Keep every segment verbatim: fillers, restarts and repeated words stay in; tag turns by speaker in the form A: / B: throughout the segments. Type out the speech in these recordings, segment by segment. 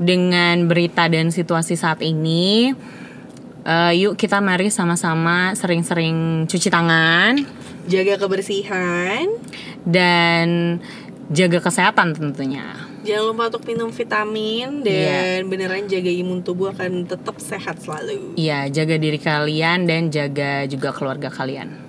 A: dengan berita dan situasi saat ini, uh, yuk kita mari sama-sama sering-sering cuci tangan,
B: jaga kebersihan,
A: dan jaga kesehatan tentunya.
B: Jangan lupa untuk minum vitamin dan yeah. beneran jaga imun tubuh akan tetap sehat selalu.
A: Iya, jaga diri kalian dan jaga juga keluarga kalian.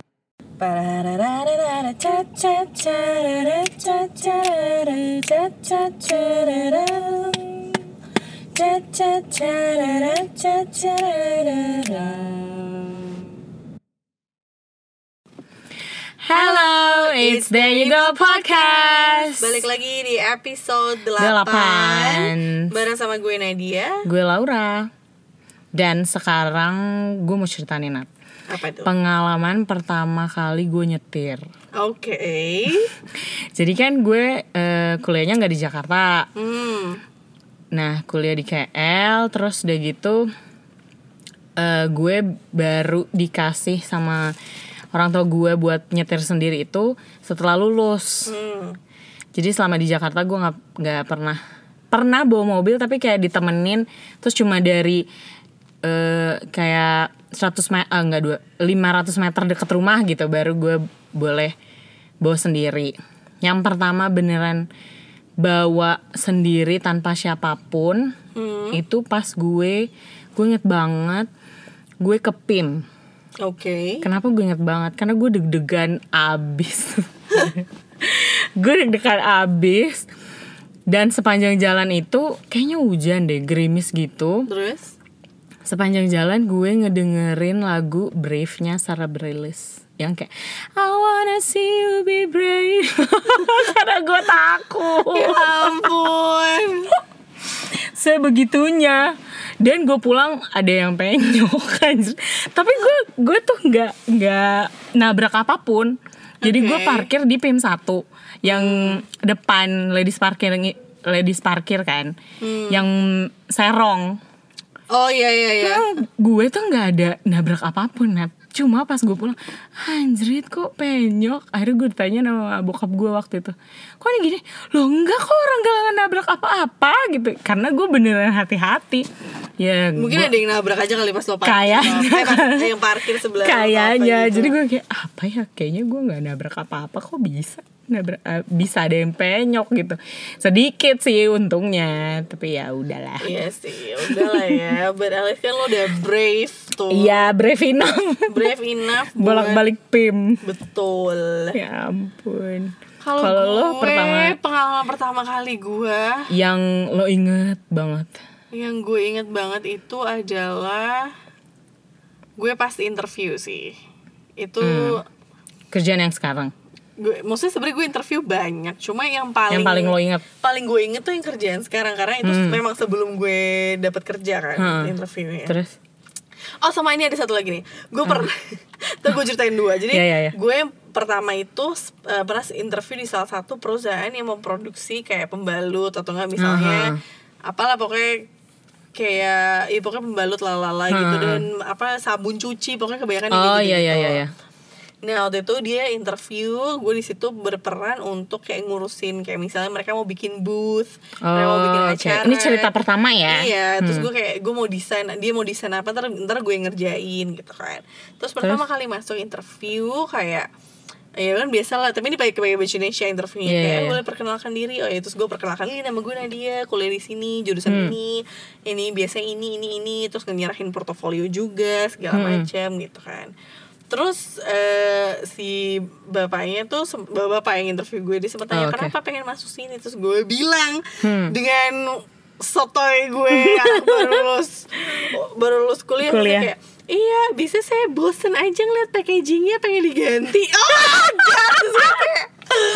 A: Hello, it's There You Go Podcast.
B: Balik lagi di episode delapan bareng sama gue Nadia,
A: gue Laura. Dan sekarang gue mau cerita nih, Nat.
B: Apa itu?
A: Pengalaman pertama kali gue nyetir.
B: Oke. Okay.
A: Jadi kan gue uh, kuliahnya gak di Jakarta.
B: Hmm.
A: Nah, kuliah di K L. Terus udah gitu uh, gue baru dikasih sama orang tua gue buat nyetir sendiri itu setelah lulus.
B: Hmm.
A: Jadi selama di Jakarta gue nggak nggak pernah pernah bawa mobil, tapi kayak ditemenin, terus cuma dari uh, kayak seratus meter, ah, enggak dua, lima ratus meter deket rumah gitu baru gue boleh bawa sendiri. Yang pertama beneran bawa sendiri tanpa siapapun,
B: hmm.
A: itu pas gue gue inget banget gue ke P I M.
B: Oke. Okay.
A: Kenapa gue inget banget? Karena gue deg-degan abis. Gue deg-degan abis. Dan sepanjang jalan itu kayaknya hujan deh, gerimis gitu.
B: Terus?
A: Sepanjang jalan gue ngedengerin lagu Brave-nya Sarah Bareilles yang kayak I wanna see you be brave. Karena gue takut.
B: Ya ampun.
A: Sebegitunya. Dan gue pulang ada yang penyok kan. Tapi gue gue tuh nggak nggak nabrak apapun. Jadi okay. gue parkir di P I M satu yang hmm. depan ladies parkir ladies parkir kan, hmm. yang serong.
B: Oh iya iya iya.
A: Nah, gue tuh nggak ada nabrak apapun, Nat. Cuma pas gue pulang, anjrit kok penyok. Akhirnya gue ditanya sama bokap gue waktu itu, kok ini gini? Loh enggak kok, orang gak nabrak apa-apa gitu. Karena gue beneran hati-hati. Ya,
B: mungkin
A: gua,
B: ada yang nabrak aja kali pas lo parkir.
A: Kayaknya.
B: Eh, pas yang parkir sebelah.
A: Kayaknya.
B: Gitu.
A: Jadi gue kayak apa ya? Kayaknya gue gak nabrak apa-apa, kok bisa nabrak, uh, bisa ada yang penyok gitu. Sedikit sih untungnya, tapi ya udahlah.
B: Iya sih, udahlah ya. Beralih kan lo udah brave tuh.
A: Iya, brave enough.
B: Brave enough.
A: Bolak-balik P I M.
B: Betul.
A: Ya ampun.
B: Kalau lo
A: pertama,
B: pengalaman pertama kali gue
A: yang lo inget banget.
B: Yang gue inget banget itu adalah gue pas interview sih. Itu
A: hmm. kerjaan yang sekarang.
B: Gue, maksudnya sebenarnya gue interview banyak, cuma yang paling
A: yang paling lo inget,
B: paling gue inget tuh yang kerjaan sekarang karena itu hmm. memang sebelum gue dapat kerja kan hmm. interviewnya.
A: Terus?
B: Oh sama ini ada satu lagi nih, gue pernah, tuh gue ceritain dua. Jadi
A: yeah, yeah, yeah.
B: gue pertama itu uh, pernah interview di salah satu perusahaan yang memproduksi kayak pembalut atau enggak misalnya, uh-huh. apalah pokoknya kayak, ya pokoknya pembalut lalala uh-huh. gitu dan apa sabun cuci pokoknya kebanyakan
A: oh,
B: gitu.
A: iya, iya, iya.
B: Nah waktu itu dia interview, gue di situ berperan untuk kayak ngurusin kayak misalnya mereka mau bikin booth,
A: oh,
B: mereka mau bikin acara.
A: Ini cerita pertama ya?
B: Iya, hmm. terus gue kayak gue mau desain, dia mau desain apa, ntar, ntar gue ngerjain gitu kan. Terus pertama terus? kali masuk interview kayak, ya kan biasa lah, tapi ini pakai pakai baju Indonesia interviewnya yeah, kayak yeah. boleh perkenalkan diri. Oh ya terus gue perkenalkan diri, nama gue Nadia, kuliah di sini, jurusan hmm. ini, ini biasa ini ini ini, terus nyerahin portofolio juga segala hmm. macam gitu kan. Terus uh, si bapaknya tuh, bapak yang interview gue, dia sempat tanya, oh, okay. kenapa pengen masuk sini? Terus gue bilang hmm. dengan sotoy gue yang baru lulus baru lulus kuliah, kuliah. Kayak, iya bisa saya bosen aja ngeliat packagingnya, pengen diganti. Oh terus gue kayak,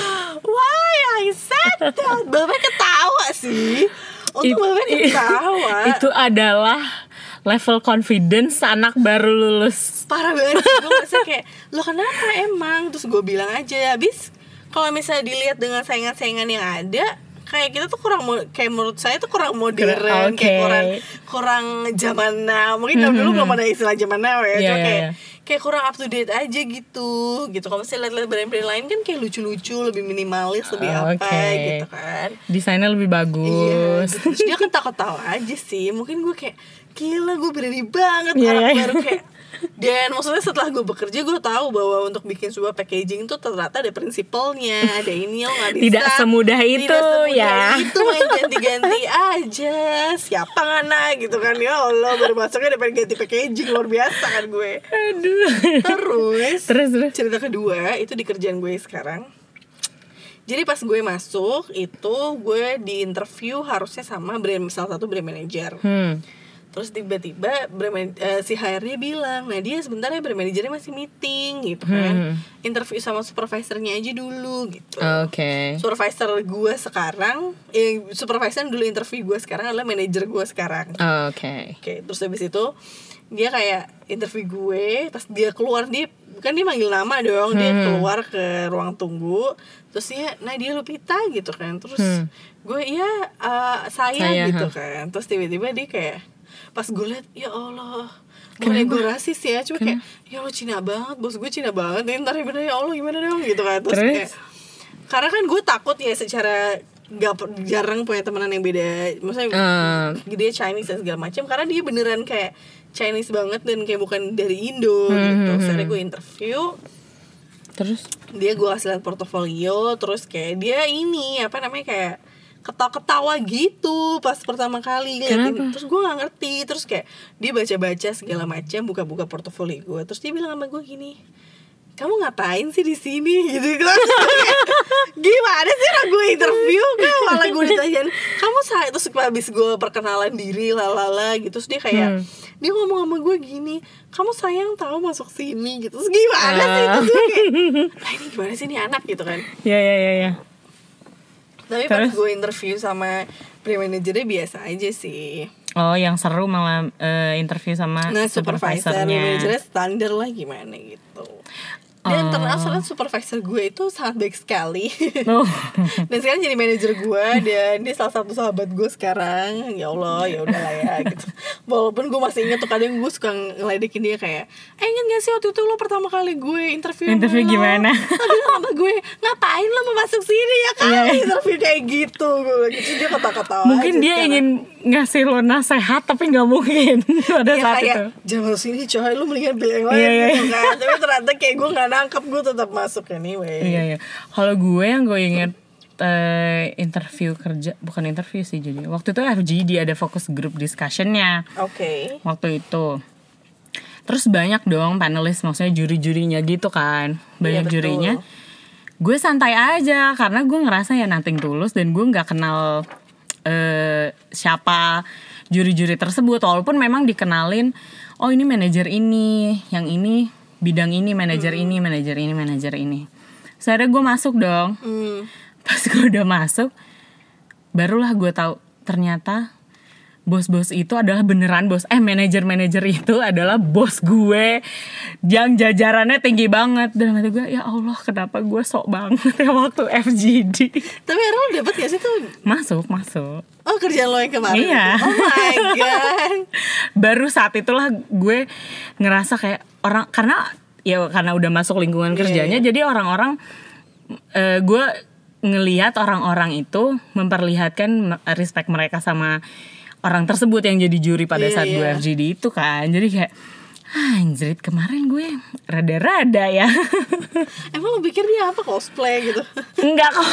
B: why I said that? Bapak ketawa sih. Untuk bapak ketawa.
A: Itu adalah level confidence anak baru lulus.
B: Parah banget sih, gue merasa kayak, lo kenapa emang? Terus gue bilang aja, habis kalau misalnya dilihat dengan saingan-saingan yang ada, kayak kita tuh kurang, kayak menurut saya tuh kurang modern, okay. kayak kurang kurang zaman now. Mungkin mm-hmm. dulu belum ada istilah zaman now ya, yeah, cuma kayak yeah. kayak kurang up to date aja gitu gitu. Kalau misalnya lihat-lihat brand-brand lain kan kayak lucu-lucu, lebih minimalis, lebih
A: Oh,
B: apa
A: okay.
B: gitu kan.
A: Desainnya lebih bagus.
B: Iya, gitu. Terus dia kan takut-tahu aja sih. Mungkin gue kayak gila, gue berani banget
A: Iya,
B: orang
A: iya.
B: baru kayak. Dan maksudnya setelah gue bekerja, gue tahu bahwa untuk bikin sebuah packaging tuh ternyata ada prinsipalnya, ada ini, lo nggak bisa.
A: Tidak semudah itu,
B: tidak semudah
A: ya.
B: itu main ganti-ganti aja. Siapa ngana gitu kan, ya Allah, baru masuknya udah pengen ganti packaging, luar biasa kan gue.
A: Aduh.
B: Terus,
A: Terus, terus.
B: cerita kedua itu di kerjaan gue sekarang. Jadi pas gue masuk itu gue di interview harusnya sama brand, salah satu brand manager.
A: Hmm.
B: Terus tiba-tiba brand, uh, si H R-nya bilang, nah dia sebenarnya brand manajernya masih meeting gitu kan.
A: Hmm.
B: Interview sama supervisornya aja dulu gitu.
A: Oke. Okay.
B: Supervisor gue sekarang, eh, supervisor dulu interview gue sekarang adalah manajer gue sekarang.
A: Oke. Okay.
B: Oke, okay, terus habis itu dia kayak interview gue, pas dia keluar dia kan dia manggil nama dong, hmm. dia keluar ke ruang tunggu, terus dia Nadia Lupita gitu kan, terus hmm. gue iya uh, saya, saya gitu huh. kan, terus tiba-tiba dia kayak pas gue liat, ya Allah, bukan gue rasis ya, cuma kayak ya Allah Cina banget, bos gue Cina banget, nih ntar bener ya Allah gimana dong gitu kan, terus, terus? kayak karena kan gue takut ya secara gak jarang punya temenan yang beda, maksudnya uh. dia Chinese dan segala macam, karena dia beneran kayak Chinese banget dan kayak bukan dari Indo hmm, gitu. Terus hmm. gue interview,
A: terus
B: dia gue kasih lihat portofolio, terus kayak dia ini apa namanya kayak ketawa-ketawa gitu pas pertama kali liatin. Terus gue nggak ngerti, terus kayak dia baca-baca segala macam, buka-buka portofolio gue, terus dia bilang sama gue gini, kamu ngapain sih di sini gitu kan. Gimana sih lah gue interview kan malah gue ditanyain kamu saya, terus habis gue perkenalan diri lalala gitu, terus dia kayak hmm. dia ngomong sama gue gini, kamu sayang tahu masuk sini gitu. Terus gimana uh. sih itu tuh kayak nah ini gimana sih nih anak gitu kan.
A: Ya ya ya ya.
B: Tapi terus? Pas gue interview sama brand manajernya biasa aja sih.
A: Oh, yang seru malah uh, interview sama
B: nah, supervisornya. Nah, manajernya standar lah gimana gitu. Dan oh. ternyata supervisor gue itu sangat baik sekali. Oh. Dan sekarang jadi manajer gue, dan dia salah satu sahabat gue sekarang. Ya Allah, ya udahlah ya gitu. Walaupun gue masih ingat tuh kadang gue suka ngeledekin dia kayak, eh ingat gak sih waktu itu lo pertama kali gue interview
A: interview
B: lo,
A: gimana?
B: Tapi sama gue, ngapain lo mau masuk sini ya kan? Yeah. Interview kayak gitu. Gue gitu dia kata-kata.
A: Mungkin dia sekarang ingin ngasih lo nasihat tapi nggak mungkin pada ya, saat
B: kayak,
A: itu.
B: Jangan masuk sini coy, lo mendingan pilih yang lain yeah, gitu yeah. kan. Tapi ternyata kayak gue nggak nangkep, gue tetap masuk anyway.
A: Iya iya. Kalau gue yang gue inget uh, interview kerja, bukan interview sih jadi. Waktu itu F G D ada focus group discussionnya.
B: Oke. Okay.
A: Waktu itu. Terus banyak dong panelis, maksudnya juri-jurinya gitu kan. Banyak iya, jurinya. Gue santai aja karena gue ngerasa ya nothing tulus dan gue nggak kenal uh, siapa juri-juri tersebut. Walaupun memang dikenalin, oh ini manajer ini, yang ini bidang ini, manajer hmm. ini, manajer ini, manajer ini. Sekarang gue masuk dong. Hmm. Pas gue udah masuk, barulah gue tahu ternyata bos-bos itu adalah beneran bos. Eh manajer-manajer itu adalah bos gue yang jajarannya tinggi banget. Dan kata gue, ya Allah kenapa gue sok banget ya waktu F G D.
B: Tapi akhirnya lo dapet gak sih tuh?
A: Masuk, masuk.
B: Oh kerjaan lo yang kemarin?
A: Iya.
B: Oh my god.
A: Baru saat itulah gue ngerasa kayak orang, karena ya karena udah masuk lingkungan kerjanya, yeah, yeah. jadi orang-orang uh, gue ngelihat orang-orang itu memperlihatkan respect mereka sama orang tersebut yang jadi juri pada yeah, saat yeah. gue F G D itu kan. Jadi kayak anjrit, kemarin gue rada-rada ya.
B: Emang lo pikir dia apa, cosplay gitu?
A: Enggak kok.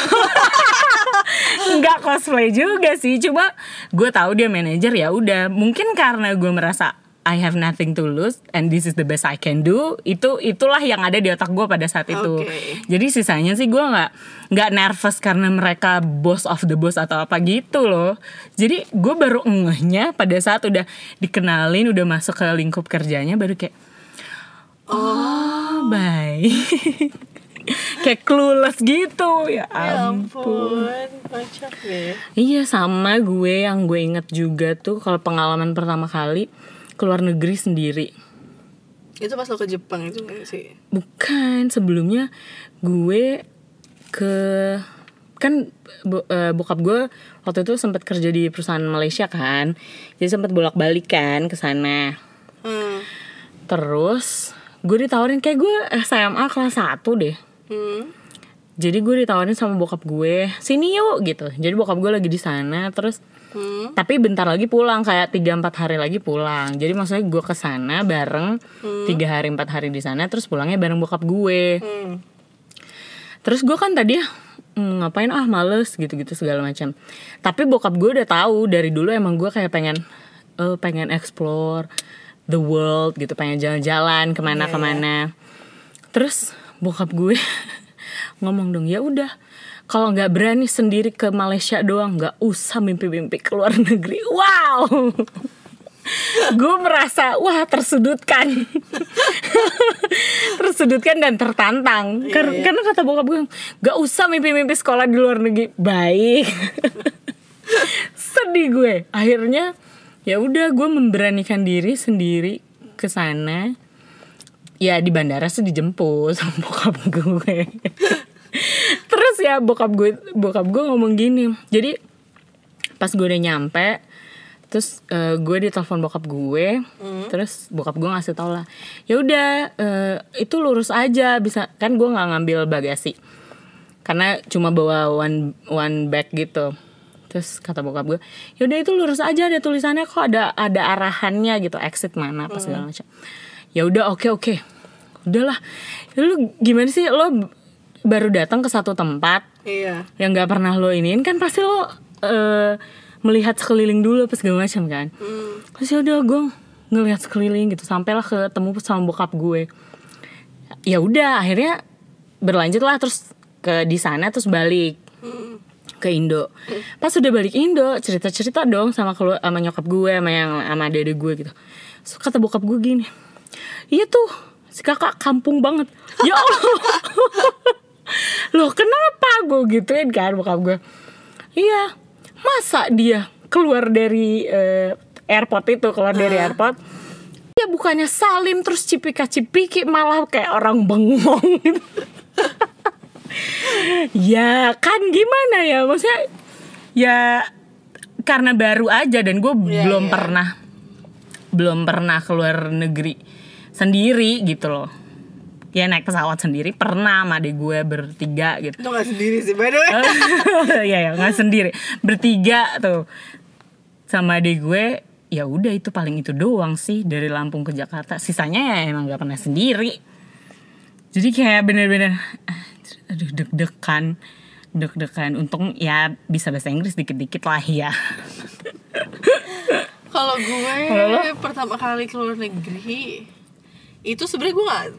A: Enggak cosplay juga sih. Cuma gue tahu dia manajer, ya udah. Mungkin karena gue merasa I have nothing to lose and this is the best I can do. Itu itulah yang ada di otak gue pada saat itu. Okay. Jadi sisanya sih gue nggak nggak nervous karena mereka boss of the boss atau apa gitu loh. Jadi gue baru ngehnya pada saat udah dikenalin, udah masuk ke lingkup kerjanya, baru kayak oh, oh baik. Kayak clueless gitu. Ya ampun,
B: ya ampun, kocak deh.
A: Iya, sama gue yang gue inget juga tuh kalau pengalaman pertama kali keluar negeri sendiri.
B: Itu pas lo ke Jepang itu gak sih?
A: Bukan, sebelumnya gue ke kan bo, uh, bokap gue waktu itu sempat kerja di perusahaan Malaysia kan, jadi sempat bolak-balik kan ke sana. Hmm. Terus gue ditawarin kayak gue S M A kelas satu deh.
B: Hmm.
A: Jadi gue ditawarin sama bokap gue, sini yuk gitu. Jadi bokap gue lagi di sana, terus hmm. tapi bentar lagi pulang, kayak tiga empat hari lagi pulang. Jadi maksudnya gue kesana bareng hmm. tiga hari empat hari di sana, terus pulangnya bareng bokap gue. Hmm. Terus gue kan tadi hmm, ngapain ah males gitu-gitu segala macam. Tapi bokap gue udah tahu dari dulu emang gue kayak pengen, uh, pengen explore the world gitu, pengen jalan-jalan kemana-kemana. Yeah, yeah. Terus bokap gue ngomong dong, ya udah kalau nggak berani sendiri ke Malaysia doang, nggak usah mimpi-mimpi ke luar negeri. Wow, gue merasa wah tersudutkan, tersudutkan dan tertantang. Kar- iya, iya. Karena kata bokap gue, nggak usah mimpi-mimpi sekolah di luar negeri. Baik, sedih gue. Akhirnya ya udah gue memberanikan diri sendiri ke sana. Ya di bandara sih dijemput sama bokap gue. Terus ya bokap gue bokap gue ngomong gini. Jadi pas gue udah nyampe, terus uh, gue ditelepon bokap gue, mm. terus bokap gue ngasih tau lah, ya udah uh, itu lurus aja, bisa kan. Gue nggak ngambil bagasi karena cuma bawa one one bag gitu. Terus kata bokap gue, ya udah itu lurus aja, ada tulisannya kok, ada ada arahannya gitu, exit mana apa segala macam. Ya udah oke oke, udahlah. Lu gimana sih, lo baru datang ke satu tempat, iya, yang nggak pernah lo iniin kan, pasti lo uh, melihat sekeliling dulu apa segala macam kan. Hmm. Terus ya udah gue ngelihat sekeliling gitu, sampailah ketemu sama bokap gue. Ya udah akhirnya berlanjut lah terus ke di sana, terus balik hmm. ke Indo. Hmm. Pas udah balik Indo, cerita-cerita dong sama kelu- sama nyokap gue, sama yang sama dede gue gitu. So, kata bokap gue gini, iya tuh si kakak kampung banget. Ya Allah. Loh kenapa gue gituin kan bokap gue. Iya, masa dia keluar dari uh, airport itu, keluar uh. dari airport, ya bukannya salim terus cipika-cipiki, malah kayak orang bengong gitu. Ya kan gimana ya, maksudnya ya karena baru aja dan gue yeah, belum yeah. pernah belum pernah keluar negeri sendiri gitu loh. Ya naik pesawat sendiri pernah sama adik gue bertiga gitu.
B: Itu gak sendiri sih by the way.
A: Iya ya gak sendiri, bertiga tuh sama adik gue. Ya udah itu paling itu doang sih dari Lampung ke Jakarta. Sisanya ya emang gak pernah sendiri. Jadi kayak bener-bener aduh deg-degan deg-degan. Untung ya bisa bahasa Inggris dikit-dikit lah ya.
B: Kalau gue Halo? pertama kali keluar negeri itu sebenarnya gue nggak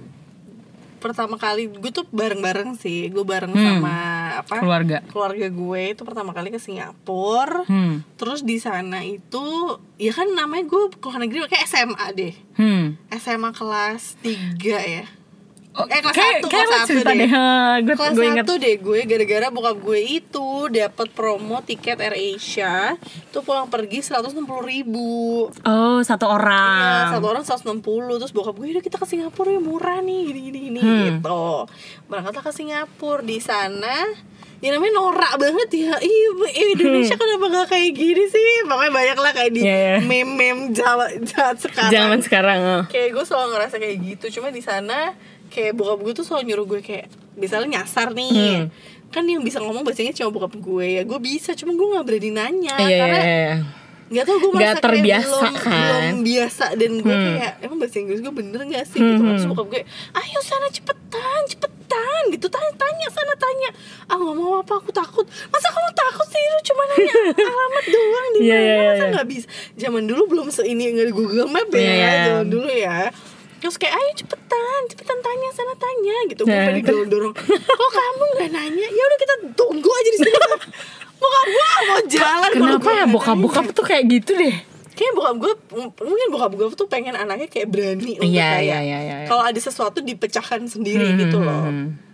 B: pertama kali, gue tuh bareng-bareng sih, gue bareng hmm. sama apa
A: keluarga
B: keluarga gue itu pertama kali ke Singapura. Hmm. Terus di sana itu ya kan namanya gue keluar negeri kayak S M A deh. Hmm. S M A kelas tiga ya. Oh, eh kelas kayak, satu kelas satu deh, deh. Gue, kelas gue satu deh gue gara-gara bokap gue itu dapat promo tiket AirAsia tuh pulang pergi seratus enam puluh ribu.
A: Oh satu orang.
B: Iya satu orang seratus enam puluh. Terus bokap gue udah kita ke Singapura ya, murah nih gini gini gini hmm. gitu. Berangkatlah ke Singapura. Di sana ya namanya norak banget ya. Ih Indonesia hmm. kenapa gak kayak gini sih. Pokoknya banyak lah kayak di yeah, yeah. meme-meme jalan sekarang.
A: Zaman sekarang oh.
B: Kayak gue selalu ngerasa kayak gitu. Cuma di sana kayak bokap gue tuh selalu nyuruh gue kayak misalnya nyasar nih, hmm. kan yang bisa ngomong bahasanya cuma bokap gue. Ya gue bisa, cuma gue nggak berani nanya
A: yeah,
B: karena nggak tahu gue merasa
A: terbiasa
B: kayak belum,
A: kan?
B: belum biasa. Dan gue hmm. kayak emang bahasa Inggris gue bener nggak sih hmm. gitu. Terus bokap gue, ayo sana cepetan cepetan gitu, tanya tanya sana tanya. Ah nggak mau apa, aku takut. Masa kamu takut sih, lu cuma nanya alamat doang di mana? Yeah, yeah, masa nggak yeah. bisa? Zaman dulu belum seini nggak di Google Map ya, yeah, yeah. zaman dulu ya. Terus kayak ayo cepetan, cepetan tanya sana tanya gitu. Gue
A: nah,
B: pengen dorong-dorong. Kok kamu nggak nanya? Ya udah kita tunggu aja di sini. Bokap gue mau jalan.
A: Kenapa ya bokap-bokap tuh kayak gitu deh?
B: Kayaknya bokap gue mungkin bokap gue tuh pengen anaknya kayak berani untuk
A: yeah,
B: kayak
A: yeah, yeah, yeah.
B: kalau ada sesuatu dipecahkan sendiri hmm, gitu loh.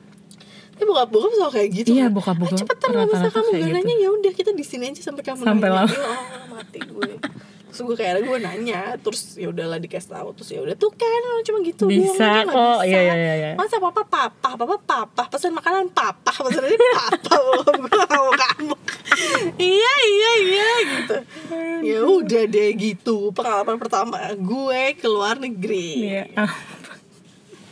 B: Tapi bokap-bokap selalu kayak gitu.
A: Iya, bokap-bokap.
B: Cepetan nggak bisa kamu nggak nanya, ya udah kita di sini aja sampai kamu
A: sampai
B: nanya.
A: Sampai
B: lama. Oh mati gue. Terus gue kayak gue nanya, terus ya udahlah dikasih tahu, terus ya udah tuh kan cuma gitu
A: bisa
B: doang,
A: kok, iya iya iya.
B: Masa papa papa papa papa pesan makanan papa pesannya papa gue mau kamu. Iya iya iya gitu. Ya udah deh gitu pengalaman pertama gue keluar negeri.
A: Iya.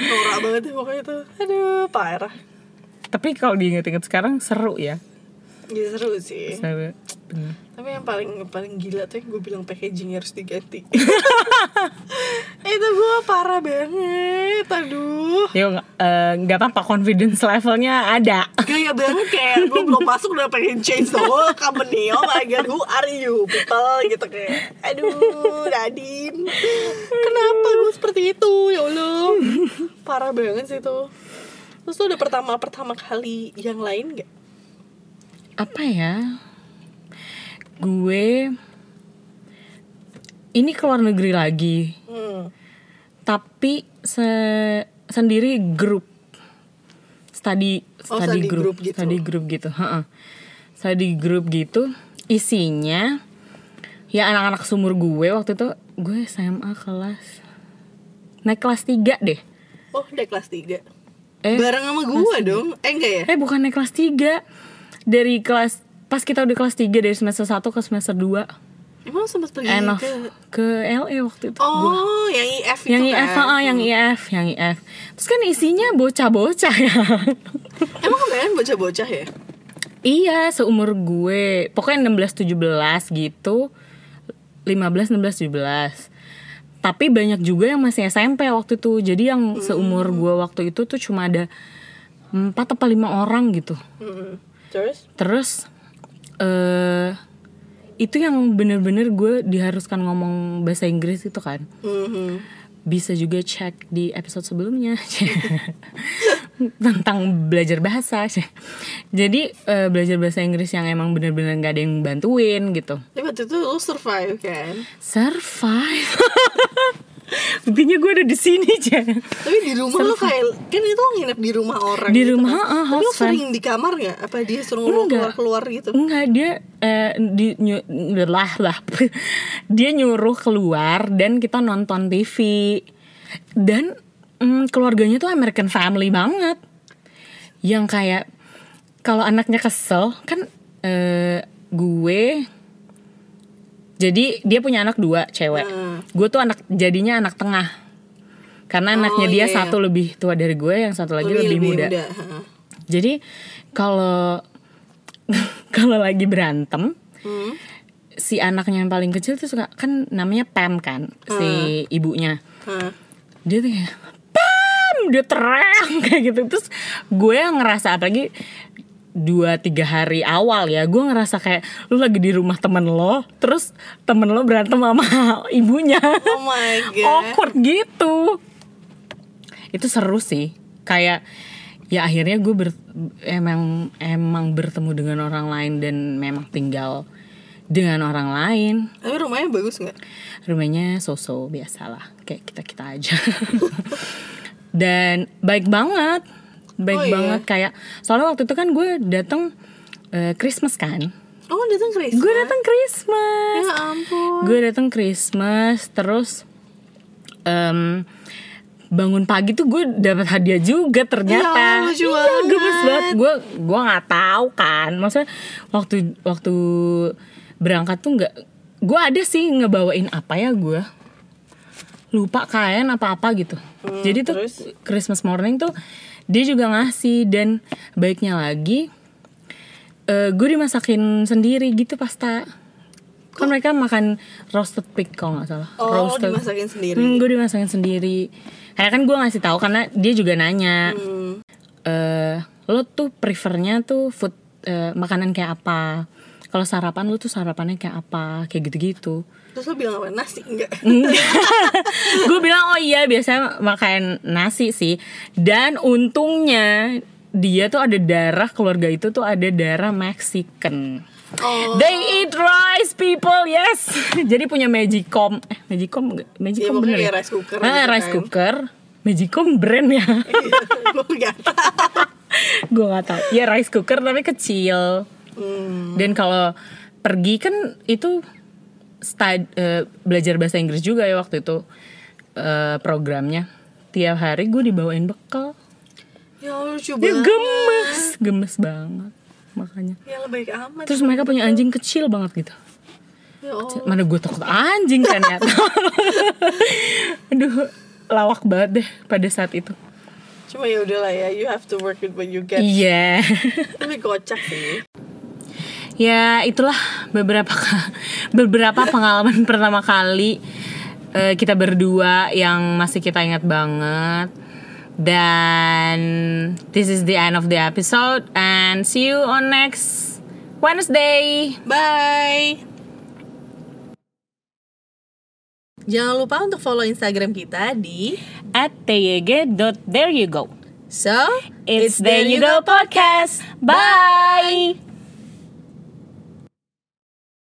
B: norak banget ya pokoknya tuh. Aduh, parah.
A: Tapi kalau diinget-inget sekarang seru ya.
B: Iya seru sih.
A: Seru. Bener.
B: Tapi yang paling paling gila tuh yang gue bilang packagingnya harus diganti. Itu gue parah banget. Aduh.
A: Yo nggak uh, apa-apa, confidence levelnya ada.
B: Gaya banget kayak gue belum masuk udah pengen change the whole company. Oh my god, who are you people gitu kayak. Aduh, Nadine. Kenapa gue seperti itu? Ya Allah. Parah banget sih tuh. Terus tuh udah pertama-pertama kali yang lain gak?
A: Apa ya? Gue ini keluar negeri lagi. Hmm. Tapi se- sendiri grup study
B: oh,
A: study,
B: study
A: group,
B: group gitu.
A: Study group gitu, heeh. Study group gitu. Isinya ya anak-anak seumur gue waktu itu. Gue S M A kelas naik kelas tiga deh.
B: Oh, naik kelas tiga.
A: Eh,
B: bareng sama gue dong. Eh enggak ya?
A: Eh bukan naik kelas tiga. Dari kelas pas kita udah kelas tiga dari semester satu ke semester dua.
B: Emang sempat pergi
A: Enough.
B: ke
A: ke L A waktu itu.
B: Oh,
A: gua.
B: yang I F itu
A: yang
B: kan?
A: I F, ah, yang I F, yang I F. Terus kan isinya bocah-bocah ya.
B: Emang kemarin bocah-bocah ya?
A: Iya, seumur gue. Pokoknya enam belas tujuh belas gitu. lima belas enam belas tujuh belas. Tapi banyak juga yang masih S M P waktu itu. Jadi yang hmm. seumur gue waktu itu tuh cuma ada empat atau lima orang gitu.
B: Hmm. Terus?
A: Terus eh uh, itu yang bener-bener gue diharuskan ngomong bahasa Inggris itu kan. Mm-hmm. Bisa juga cek di episode sebelumnya tentang belajar bahasa. Jadi uh, belajar bahasa Inggris yang emang bener-bener gak ada yang bantuin gitu.
B: Tapi waktu itu lo survive kan?
A: Survive. Buktinya gue ada di sini aja.
B: Tapi di rumah lo kayak kan itu nginep di rumah orang.
A: Di
B: gitu
A: rumah,
B: kan?
A: uh,
B: Tapi lo sering di kamar nggak? Apa dia suruh lo keluar-keluar gitu?
A: Enggak, dia eh, di ny- lah lah. Dia nyuruh keluar dan kita nonton T V. Dan mm, keluarganya tuh American family banget. Yang kayak kalau anaknya kesel kan eh, gue. Jadi dia punya anak dua cewek. Hmm. Gue tuh anak jadinya anak tengah. Karena oh, anaknya dia iya, satu iya. lebih tua dari gue, yang satu lagi lebih, lebih muda. muda. Jadi kalau kalau lagi berantem, hmm. si anaknya yang paling kecil tuh suka kan namanya Pam kan, hmm. si ibunya. Hmm. Dia tuh kayak Pam, dia teriak kayak gitu. Terus gue yang ngerasa apalagi dua tiga hari awal ya, gue ngerasa kayak lu lagi di rumah temen lo, terus temen lo berantem sama ibunya.
B: Oh my god,
A: awkward gitu. Itu seru sih, kayak ya akhirnya gue ber, emang emang bertemu dengan orang lain dan memang tinggal dengan orang lain.
B: Tapi rumahnya bagus nggak?
A: Rumahnya so-so biasalah, kayak kita kita aja. Dan baik banget. Baik oh, banget iya. Kayak soalnya waktu itu kan gue datang uh, Christmas kan.
B: Oh datang Christmas.
A: Gue datang Christmas.
B: Ya ampun.
A: Gue datang Christmas terus um, bangun pagi tuh gue dapat hadiah juga ternyata.
B: Ya, lucu
A: iya, gemes banget. Gue gue nggak tahu kan. Maksudnya waktu waktu berangkat tuh nggak. Gue ada sih ngebawain apa ya gue. Lupa kain apa-apa gitu. Hmm, Jadi tuh terus? Christmas morning tuh dia juga ngasih. Dan baiknya lagi uh, gue dimasakin sendiri gitu pasta. Kan mereka makan roasted pig kalau gak salah.
B: Oh
A: roasted.
B: dimasakin sendiri.
A: hmm, Gue dimasakin sendiri. Karena kan gue ngasih tahu karena dia juga nanya hmm. uh, lo tuh prefernya tuh food uh, makanan kayak apa. Kalau sarapan lo tuh sarapannya kayak apa. Kayak gitu-gitu.
B: Terus lo bilang apa? Nasi? Enggak.
A: Gue bilang oh iya biasanya makan nasi sih. Dan untungnya dia tuh ada darah, keluarga itu tuh ada darah Mexican. Oh. They eat rice people, yes. Jadi punya Magicom. Eh Magicom enggak? Magicom ya, bener ya?
B: Rice cooker.
A: Ah, rice cooker. Magicom brand ya.
B: Gue gak tau.
A: Gue gak tau. Ya rice cooker tapi kecil. Hmm. Dan kalau pergi kan itu Stad, uh, belajar bahasa Inggris juga ya waktu itu uh, programnya. Tiap hari gue dibawain bekal.
B: Ya lucu
A: ya,
B: banget.
A: Gemes, gemes banget makanya.
B: Ya lebih amat.
A: Terus mereka punya anjing kecil banget gitu.
B: Ya Allah.
A: Mana gue takut anjing kan ya. Aduh, lawak banget deh pada saat itu.
B: Cuma ya udahlah ya, you have to work with what you get.
A: Iya.
B: Tapi kocak sih.
A: Ya itulah beberapa beberapa pengalaman pertama kali uh, kita berdua yang masih kita ingat banget. Dan this is the end of the episode, and see you on next Wednesday.
B: Bye. Jangan lupa untuk follow Instagram kita di
A: at t y g dot there you go.
B: So,
A: it's, it's There You Go Podcast. Bye.